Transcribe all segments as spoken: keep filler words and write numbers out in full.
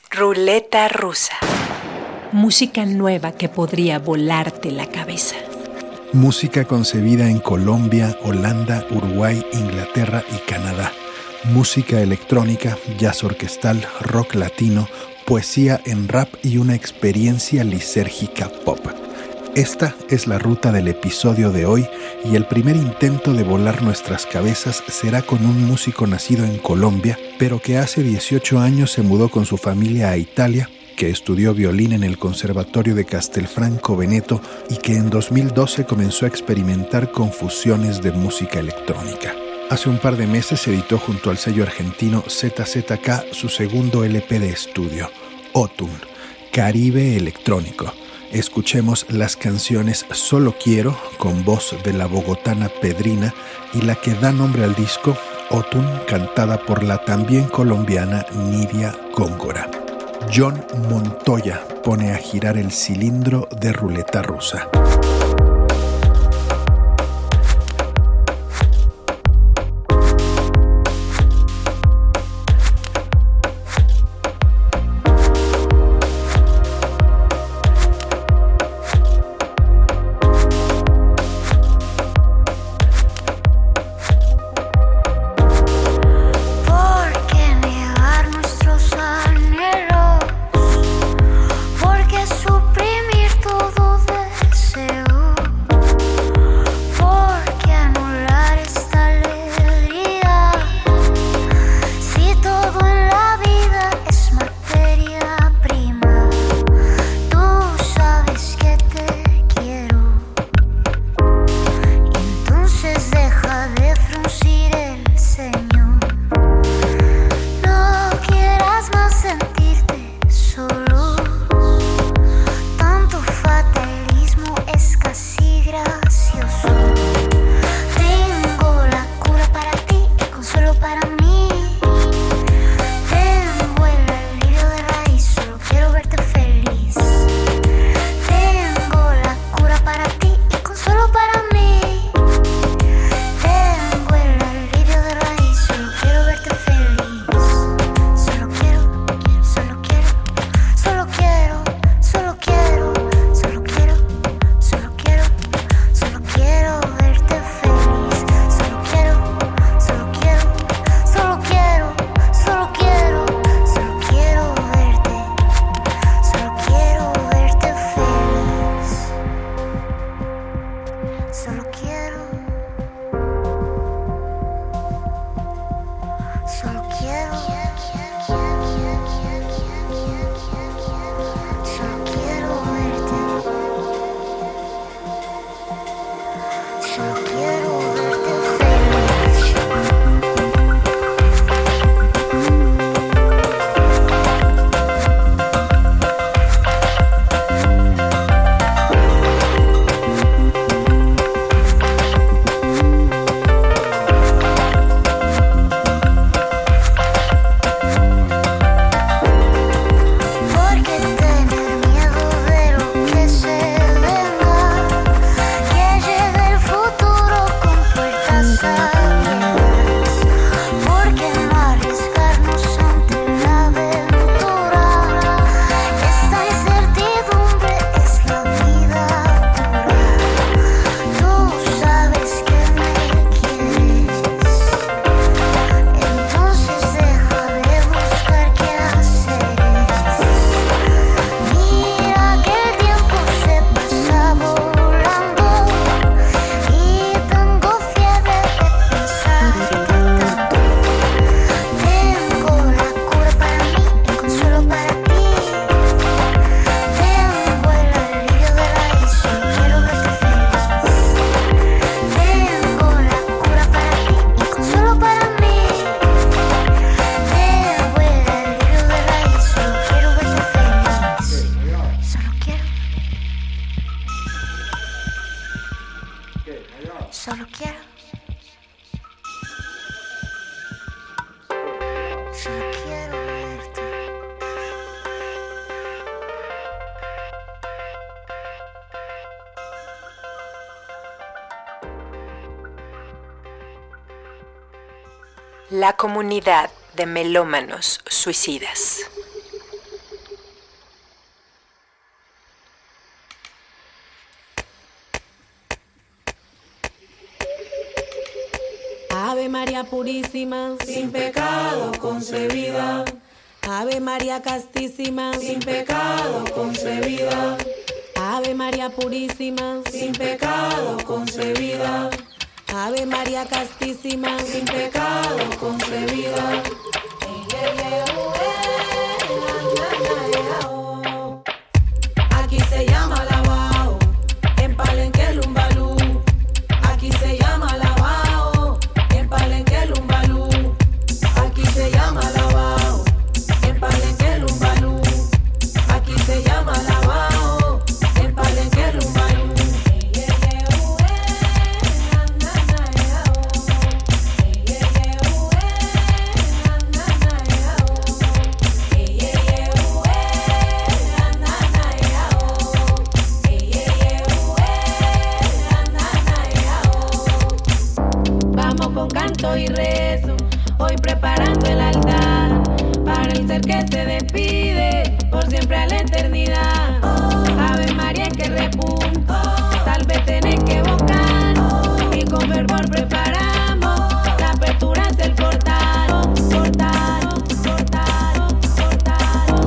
Ruleta rusa. Música nueva que podría volarte la cabeza. Música concebida en Colombia, Holanda, Uruguay, Inglaterra y Canadá. Música electrónica, jazz orquestal, rock latino, poesía en rap y una experiencia lisérgica pop. Esta es la ruta del episodio de hoy y el primer intento de volar nuestras cabezas será con un músico nacido en Colombia, pero que hace dieciocho años se mudó con su familia a Italia, que estudió violín en el Conservatorio de Castelfranco Veneto y que en dos mil doce comenzó a experimentar con fusiones de música electrónica. Hace un par de meses editó junto al sello argentino Z Z K su segundo L P de estudio, Otun, Caribe Electrónico. Escuchemos las canciones Solo Quiero, con voz de la bogotana Pedrina, y la que da nombre al disco, Otun, cantada por la también colombiana Nidia Góngora. John Montoya pone a girar el cilindro de ruleta rusa. Solo quiero. Solo quiero verte. La comunidad de melómanos suicidas. María purísima, sin pecado concebida. Ave María castísima, sin pecado concebida. Ave María purísima, sin pecado concebida. Ave María castísima, sin pecado concebida. Aquí se llama lavao, en Palenque Lumbalú. Aquí se llama lavao, en Palenque Lumbalú. Aquí se llama lavao, en Palenque Lumbalú. Aquí se llama lavao, en Palenque Lumbalú. Con canto y rezo, hoy preparando el altar para el ser que se despide por siempre a la eternidad. Ave María que repunta, tal vez tenés que evocar y con fervor preparamos la apertura hacia el portal, portal, portal, portal,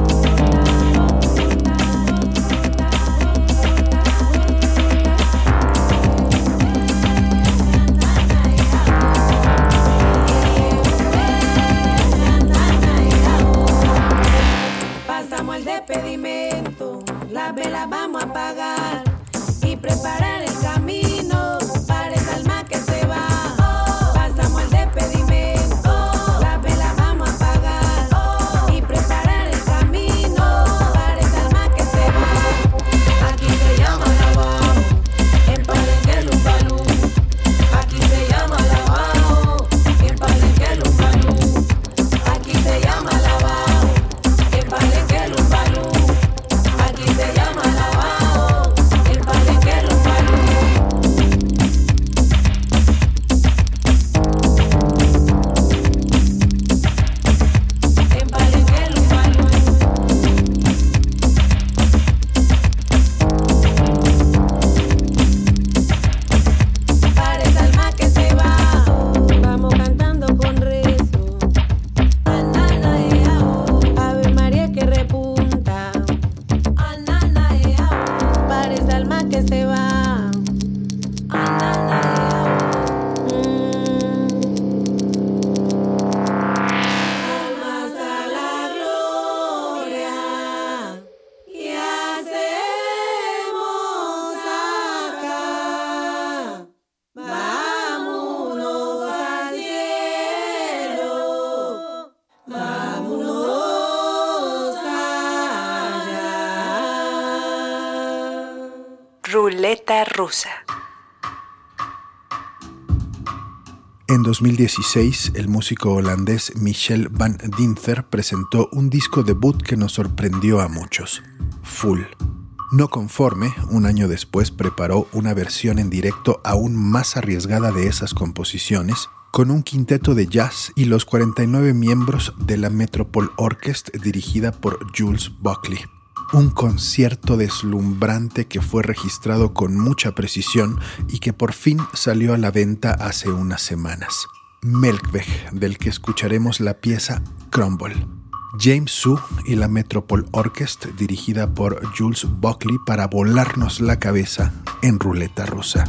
pasamos el despedimento, las velas vamos a apagar y preparar el camino para esa alma que se va. Pasamos el despedimento, las velas vamos a apagar y preparar el camino para esa alma que se va. Aquí se llama lavao, en Palenque Lumbalú. Aquí se llama lavao, en Palenque Lumbalú. Aquí se llama lavao, en Palenque Lumbalú. Aquí se llama lavao, en Palenque Lumbalú. En Palenque Lumbalú. Para esa alma que se va, vamos cantando con rezo. Ave María que repunta, para esa alma que se va. Almas a la gloria y hacemos acá. Vámonos al cielo, vámonos allá. Ruleta rusa. En dos mil dieciséis, el músico holandés Michel van Dinther presentó un disco debut que nos sorprendió a muchos, Full. No conforme, un año después preparó una versión en directo aún más arriesgada de esas composiciones, con un quinteto de jazz y los cuarenta y nueve miembros de la Metropole Orchestra dirigida por Jules Buckley. Un concierto deslumbrante que fue registrado con mucha precisión y que por fin salió a la venta hace unas semanas. Melkweg, del que escucharemos la pieza Crumble. James Su y la Metropole Orchestra dirigida por Jules Buckley para volarnos la cabeza en Ruleta Rusa.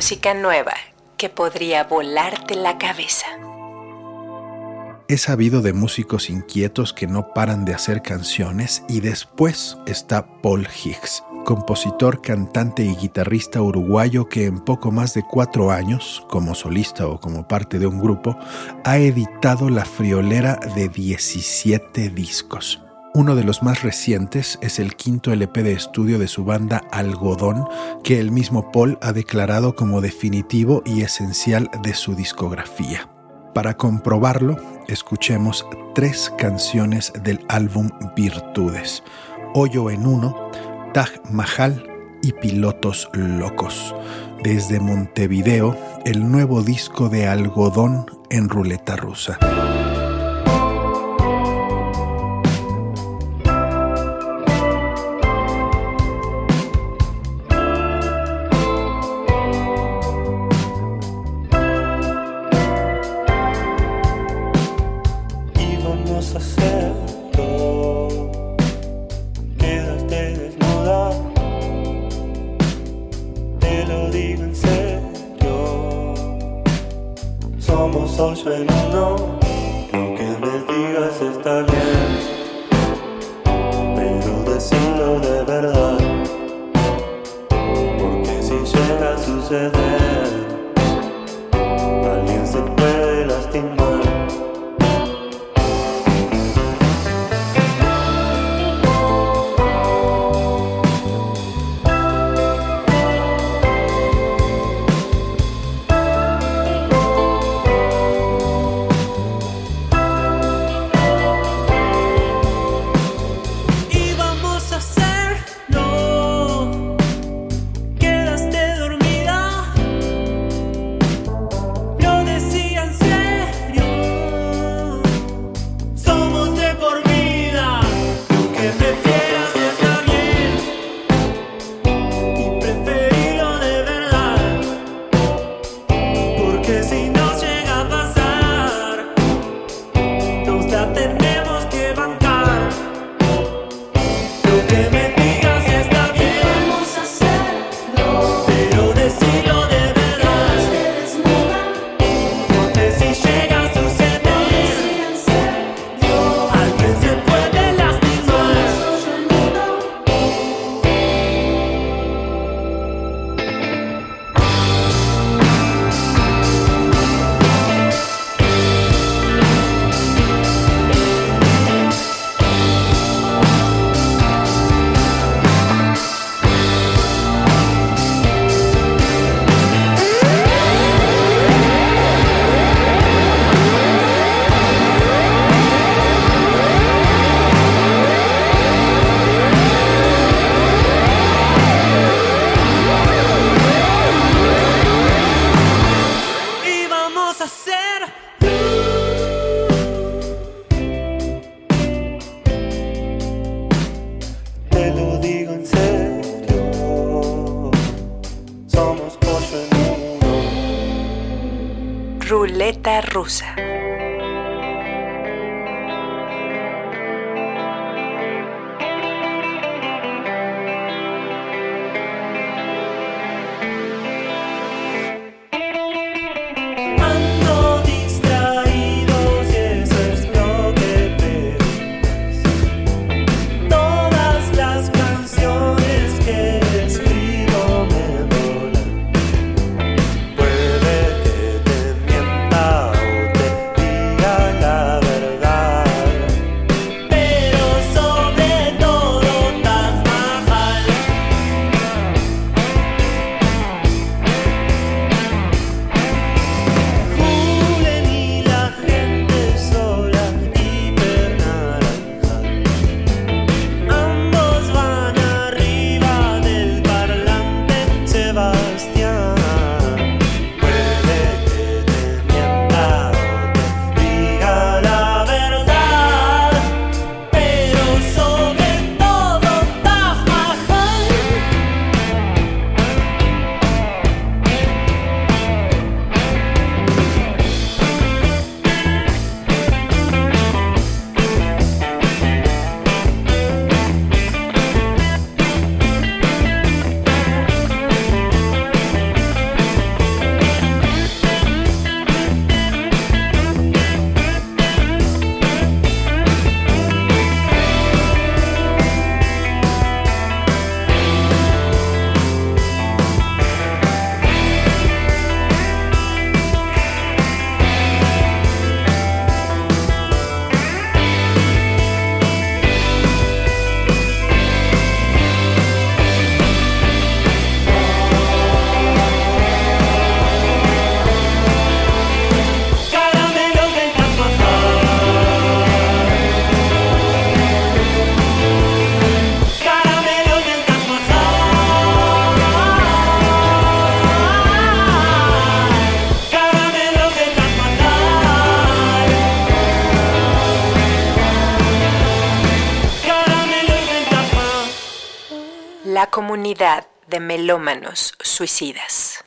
Música nueva que podría volarte la cabeza. He sabido de músicos inquietos que no paran de hacer canciones, y después está Paul Higgs, compositor, cantante y guitarrista uruguayo que en poco más de cuatro años, como solista o como parte de un grupo, ha editado la friolera de diecisiete discos. Uno de los más recientes es el quinto L P de estudio de su banda Algodón, que el mismo Paul ha declarado como definitivo y esencial de su discografía. Para comprobarlo, escuchemos tres canciones del álbum Virtudes: Hoyo en Uno, Taj Mahal y Pilotos Locos. Desde Montevideo, el nuevo disco de Algodón en Ruleta Rusa. Hoyo en uno, lo que me digas está bien, pero decirlo de verdad, porque si llega a suceder, alguien se puede lastimar. Ruleta Rusa. Puede que te mienta o te la comunidad de melómanos suicidas.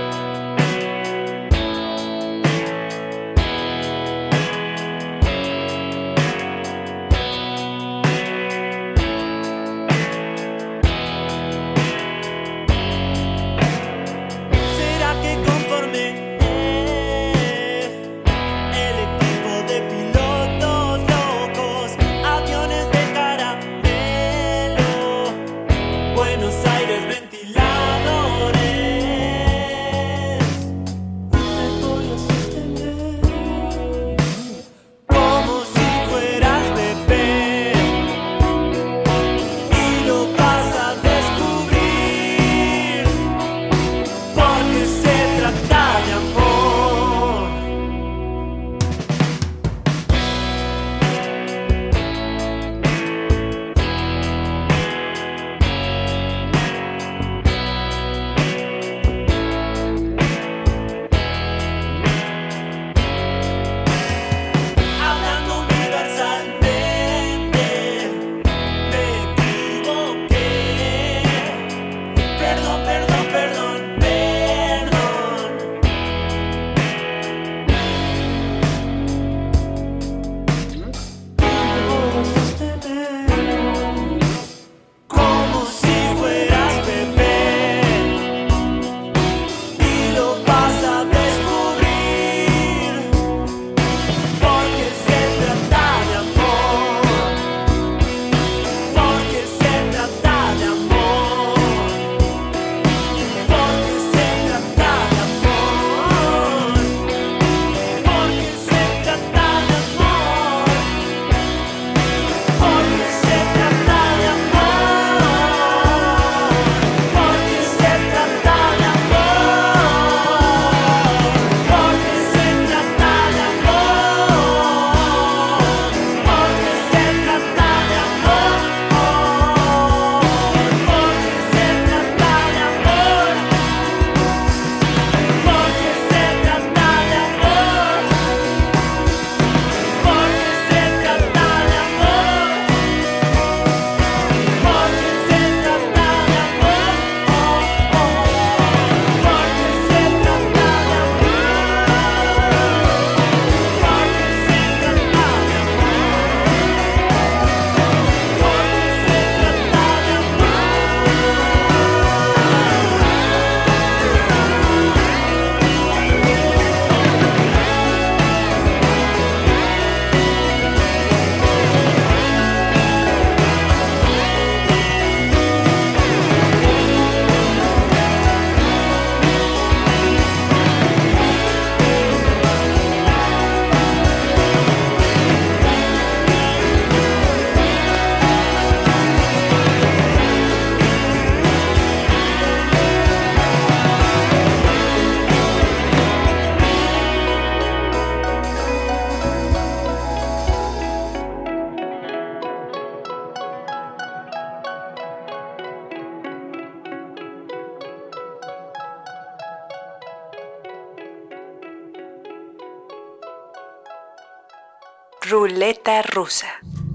Ruleta rusa.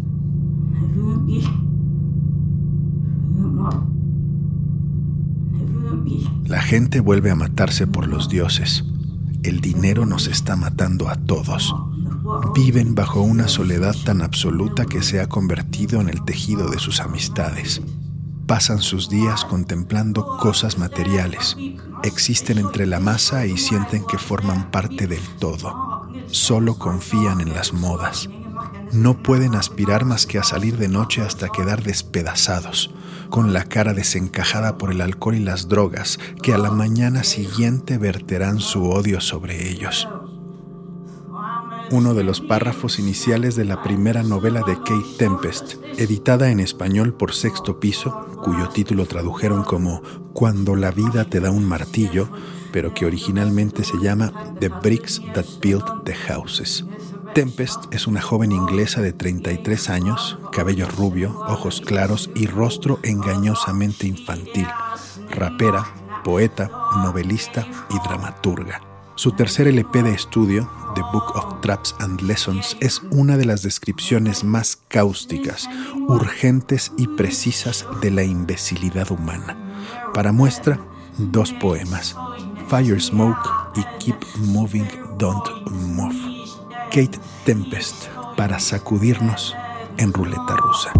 La gente vuelve a matarse por los dioses. El dinero nos está matando a todos. Viven bajo una soledad tan absoluta que se ha convertido en el tejido de sus amistades. Pasan sus días contemplando cosas materiales. Existen entre la masa y sienten que forman parte del todo. Solo confían en las modas. No pueden aspirar más que a salir de noche hasta quedar despedazados, con la cara desencajada por el alcohol y las drogas, que a la mañana siguiente verterán su odio sobre ellos. Uno de los párrafos iniciales de la primera novela de Kate Tempest, editada en español por Sexto Piso, cuyo título tradujeron como Cuando la vida te da un martillo, pero que originalmente se llama The Bricks That Built the Houses. Tempest es una joven inglesa de treinta y tres años, cabello rubio, ojos claros y rostro engañosamente infantil, rapera, poeta, novelista y dramaturga. Su tercer L P de estudio, The Book of Traps and Lessons, es una de las descripciones más cáusticas, urgentes y precisas de la imbecilidad humana. Para muestra, dos poemas, Fire Smoke y Keep Moving, Don't Move. Kate Tempest, para sacudirnos en ruleta rusa.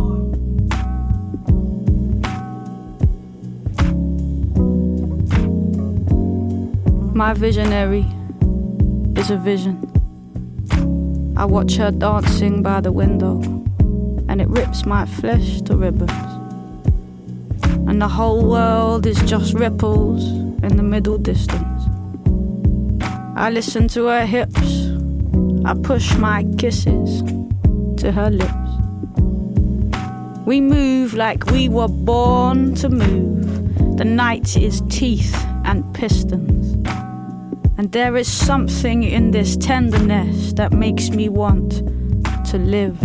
My visionary is a vision. I watch her dancing by the window, and it rips my flesh to ribbons. And the whole world is just ripples in the middle distance. I listen to her hips, I push my kisses to her lips. We move like we were born to move. The night is teeth and pistons. And there is something in this tenderness that makes me want to live.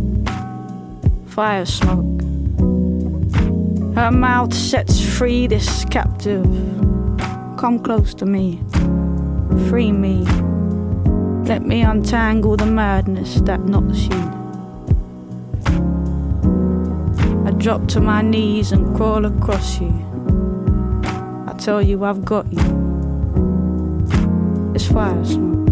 Fire smoke. Her mouth sets free this captive. Come close to me. Free me. Let me untangle the madness that knots you. I drop to my knees and crawl across you. I tell you I've got you. It's fire smoke.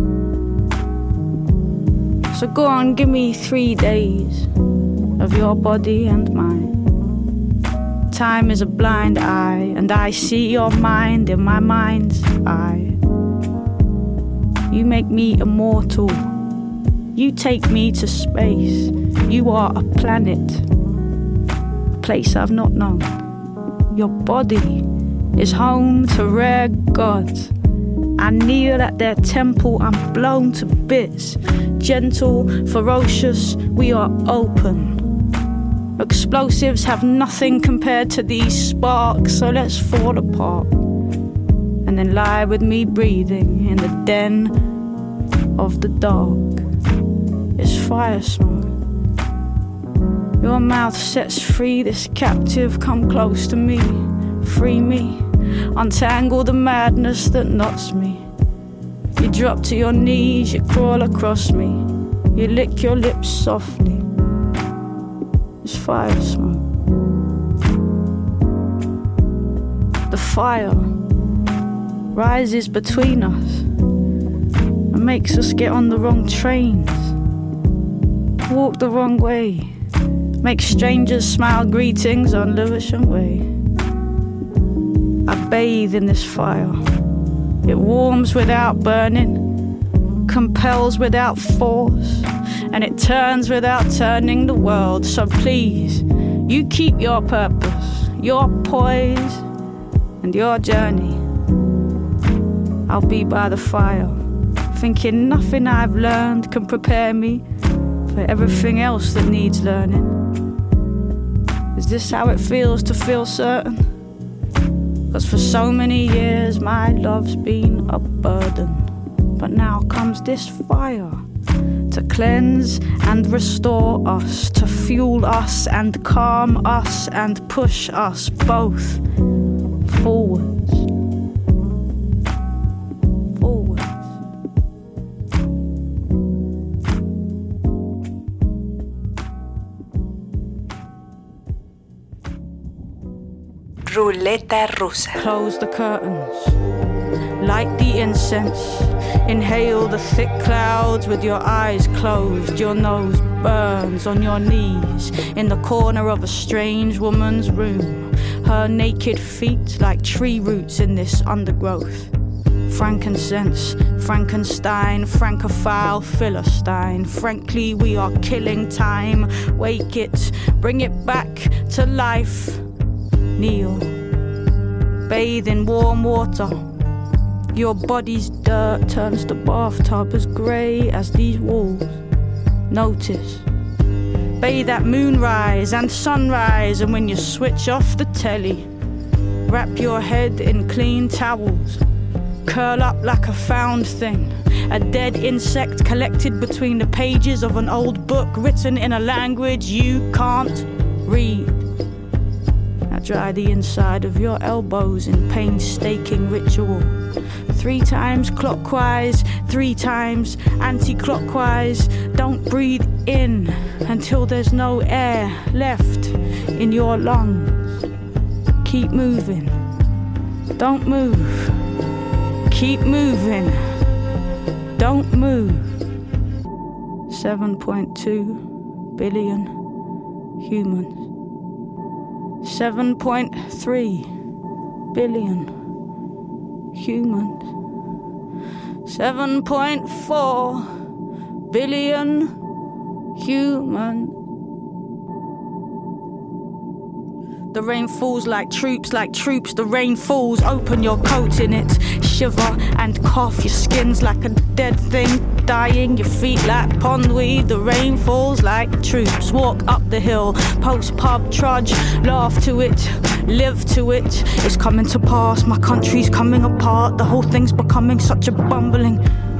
So go on, give me three days of your body and mine. Time is a blind eye, and I see your mind in my mind's eye. You make me immortal. You take me to space. You are a planet, a place I've not known. Your body is home to rare gods. I kneel at their temple, I'm blown to bits. Gentle, ferocious, we are open. Explosives have nothing compared to these sparks, so let's fall apart. And then lie with me breathing in the den of the dark. It's fire smoke. Your mouth sets free this captive, come close to me, free me. Untangle the madness that knots me. You drop to your knees, you crawl across me. You lick your lips softly. It's fire smoke. The fire rises between us and makes us get on the wrong trains, walk the wrong way, make strangers smile greetings on Lewisham Way. I bathe in this fire. It warms without burning, compels without force, and it turns without turning the world. So please, you keep your purpose, your poise, and your journey. I'll be by the fire, thinking nothing I've learned can prepare me for everything else that needs learning. Is this how it feels to feel certain? 'Cause for so many years my love's been a burden. But now comes this fire to cleanse and restore us, to fuel us and calm us and push us both forwards. Forwards. Ruleta rusa. Close the curtains, light the incense, inhale the thick clouds with your eyes closed. Your nose burns on your knees in the corner of a strange woman's room. Her naked feet like tree roots in this undergrowth. Frankincense, Frankenstein, Francophile, Philistine. Frankly, we are killing time. Wake it, bring it back to life. Kneel, bathe in warm water. Your body's dirt turns the bathtub as grey as these walls. Notice, bathe at moonrise and sunrise, and when you switch off the telly, wrap your head in clean towels. Curl up like a found thing, a dead insect collected between the pages of an old book written in a language you can't read. dry the inside of your elbows in painstaking ritual. Three times clockwise, three times anti-clockwise. Don't breathe in until there's no air left in your lungs. Keep moving. Don't move. Keep moving. Don't move. seven point two billion humans. seven point three billion humans. seven point four billion humans. The rain falls like troops, like troops. The rain falls, open your coat in it. Shiver and cough, your skin's like a dead thing dying, your feet like pondweed. The rain falls like troops. Walk up the hill, post pub, trudge, laugh to it, live to it. It's coming to pass, my country's coming apart. The whole thing's becoming such a bumbling.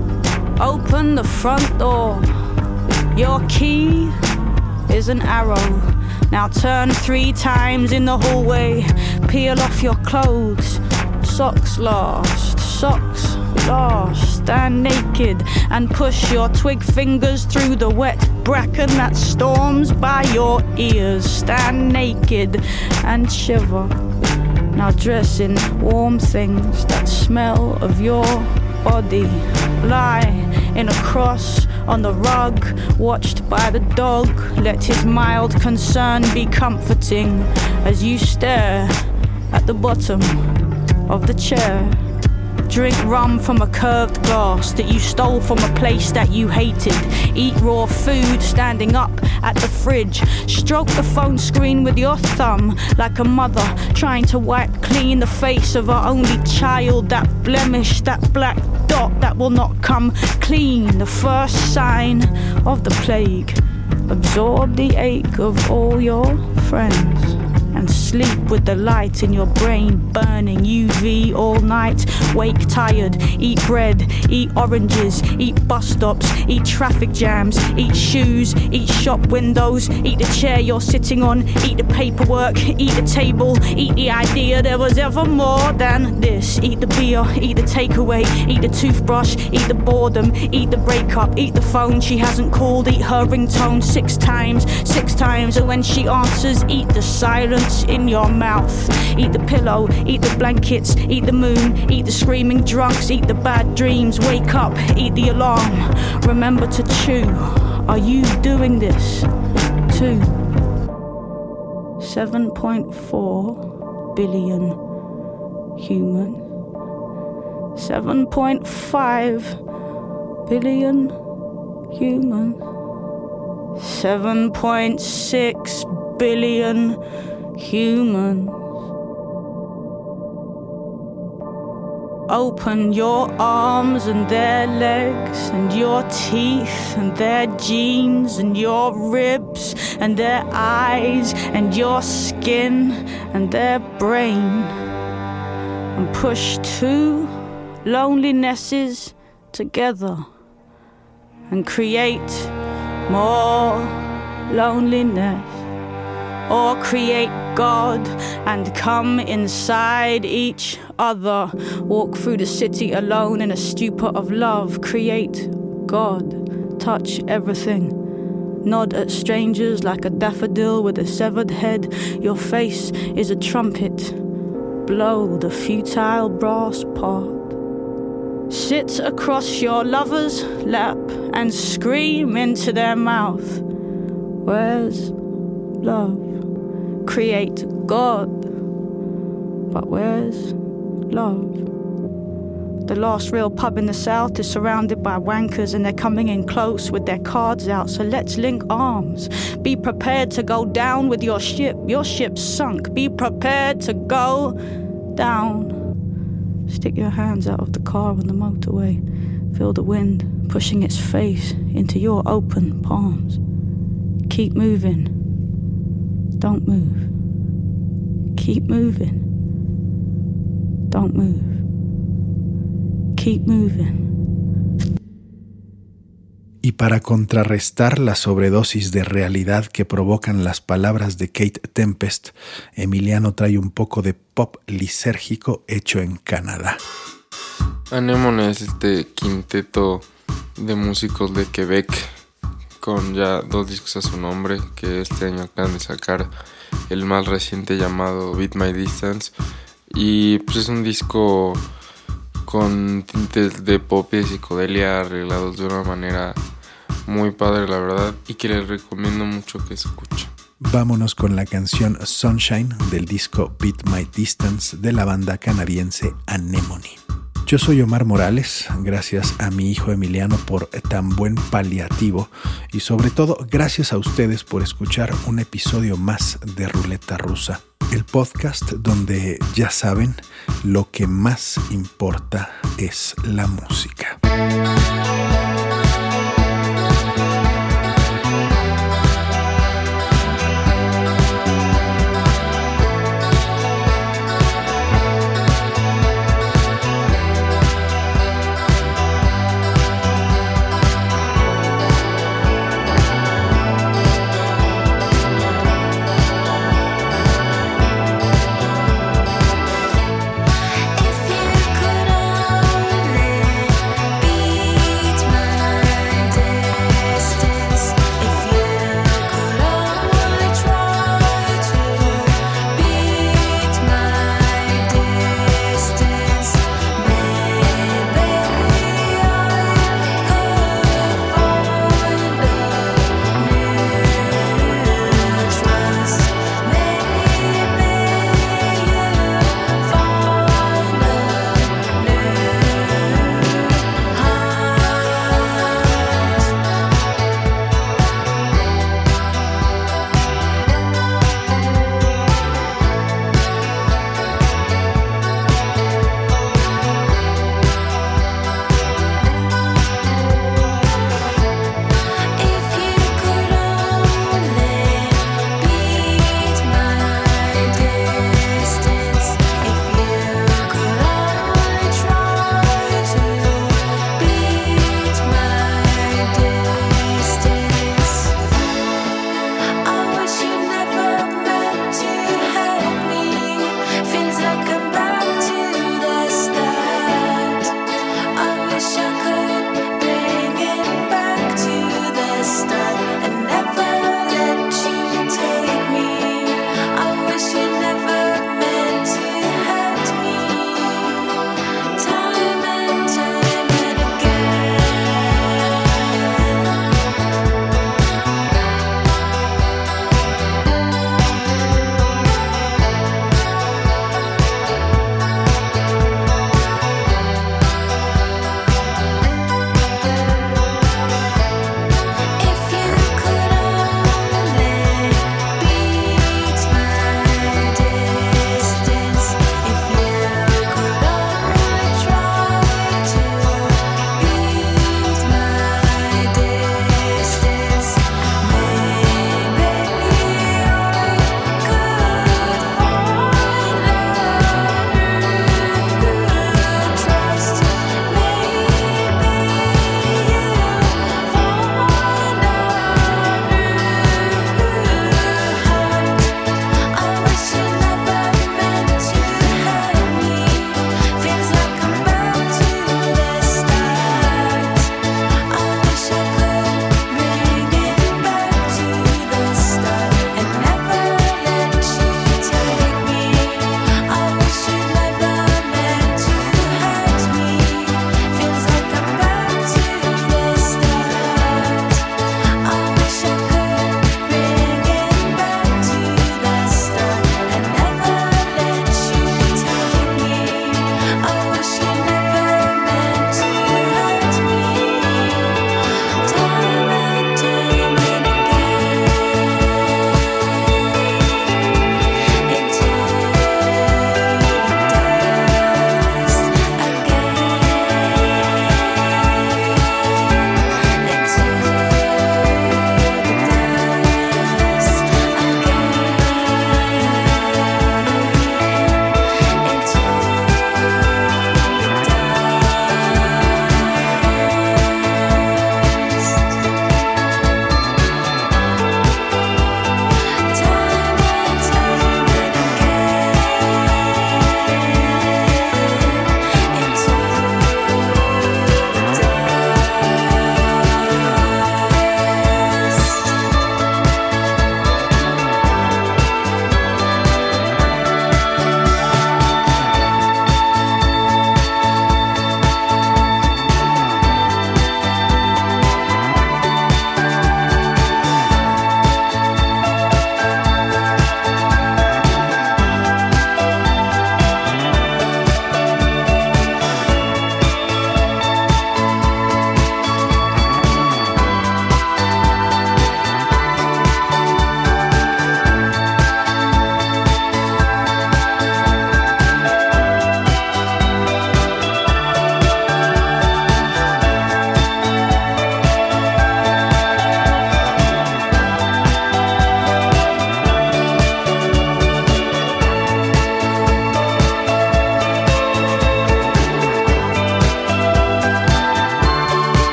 Open the front door. Your key is an arrow. Now turn three times in the hallway. Peel off your clothes. Socks last, socks last. Stand naked and push your twig fingers through the wet bracken that storms by your ears. Stand naked and shiver. Now dress in warm things that smell of your body. Lie in a cross on the rug, watched by the dog. Let his mild concern be comforting as you stare at the bottom of the chair. Drink rum from a curved glass that you stole from a place that you hated. Eat raw food standing up at the fridge. Stroke the phone screen with your thumb like a mother trying to wipe clean the face of her only child. That blemish, that black dot that will not come clean. The first sign of the plague. Absorb the ache of all your friends and sleep with the light in your brain burning U V all night. Wake tired, eat bread, eat oranges, eat bus stops, eat traffic jams, eat shoes, eat shop windows, eat the chair you're sitting on, eat the paperwork, eat the table, eat the idea there was ever more than this. Eat the beer, eat the takeaway, eat the toothbrush, eat the boredom, eat the breakup, eat the phone she hasn't called, eat her ringtone six times, six times, and when she answers, eat the silence in your mouth. Eat the pillow, eat the blankets, eat the moon, eat the screaming drunks, eat the bad dreams. Wake up, eat the alarm. Remember to chew. Are you doing this too? seven point four billion human. seven point five billion human. seven point six billion humans. Open your arms and their legs and your teeth and their jeans and your ribs and their eyes and your skin and their brain, and push two lonelinesses together and create more loneliness. Or create God and come inside each other. Walk through the city alone in a stupor of love. Create God. Touch everything. Nod at strangers like a daffodil with a severed head. Your face is a trumpet. Blow the futile brass part. Sit across your lover's lap and scream into their mouth. Where's love? Create God, but where's love? The last real pub in the south is surrounded by wankers and they're coming in close with their cards out, so let's link arms. Be prepared to go down with your ship. Your ship's sunk. Be prepared to go down. Stick your hands out of the car on the motorway. Feel the wind pushing its face into your open palms. Keep moving. Don't move. Keep moving. Don't move. Keep moving. Y para contrarrestar la sobredosis de realidad que provocan las palabras de Kate Tempest, Emiliano trae un poco de pop lisérgico hecho en Canadá. Anemone es este quinteto de músicos de Quebec con ya dos discos a su nombre, que este año acaban de sacar el más reciente llamado Beat My Distance, y pues es un disco con tintes de pop y de psicodelia arreglados de una manera muy padre, la verdad, y que les recomiendo mucho que escuchen. Vámonos con la canción Sunshine del disco Beat My Distance de la banda canadiense Anemone. Yo soy Omar Morales, gracias a mi hijo Emiliano por tan buen paliativo y sobre todo gracias a ustedes por escuchar un episodio más de Ruleta Rusa, el podcast donde, ya saben, lo que más importa es la música. If you could only be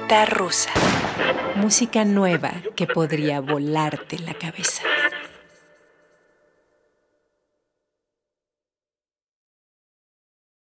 Ruleta rusa. Música nueva que podría volarte la cabeza.